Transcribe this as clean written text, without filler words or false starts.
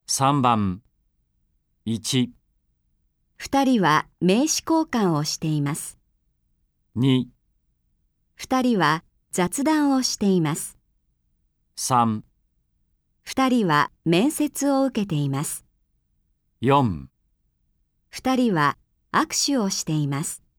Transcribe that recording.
3番1、 2人は名刺交換をしています。 2、 2人は雑談をしています。 3、 2人は面接を受けています。 4。 2人は握手をしています。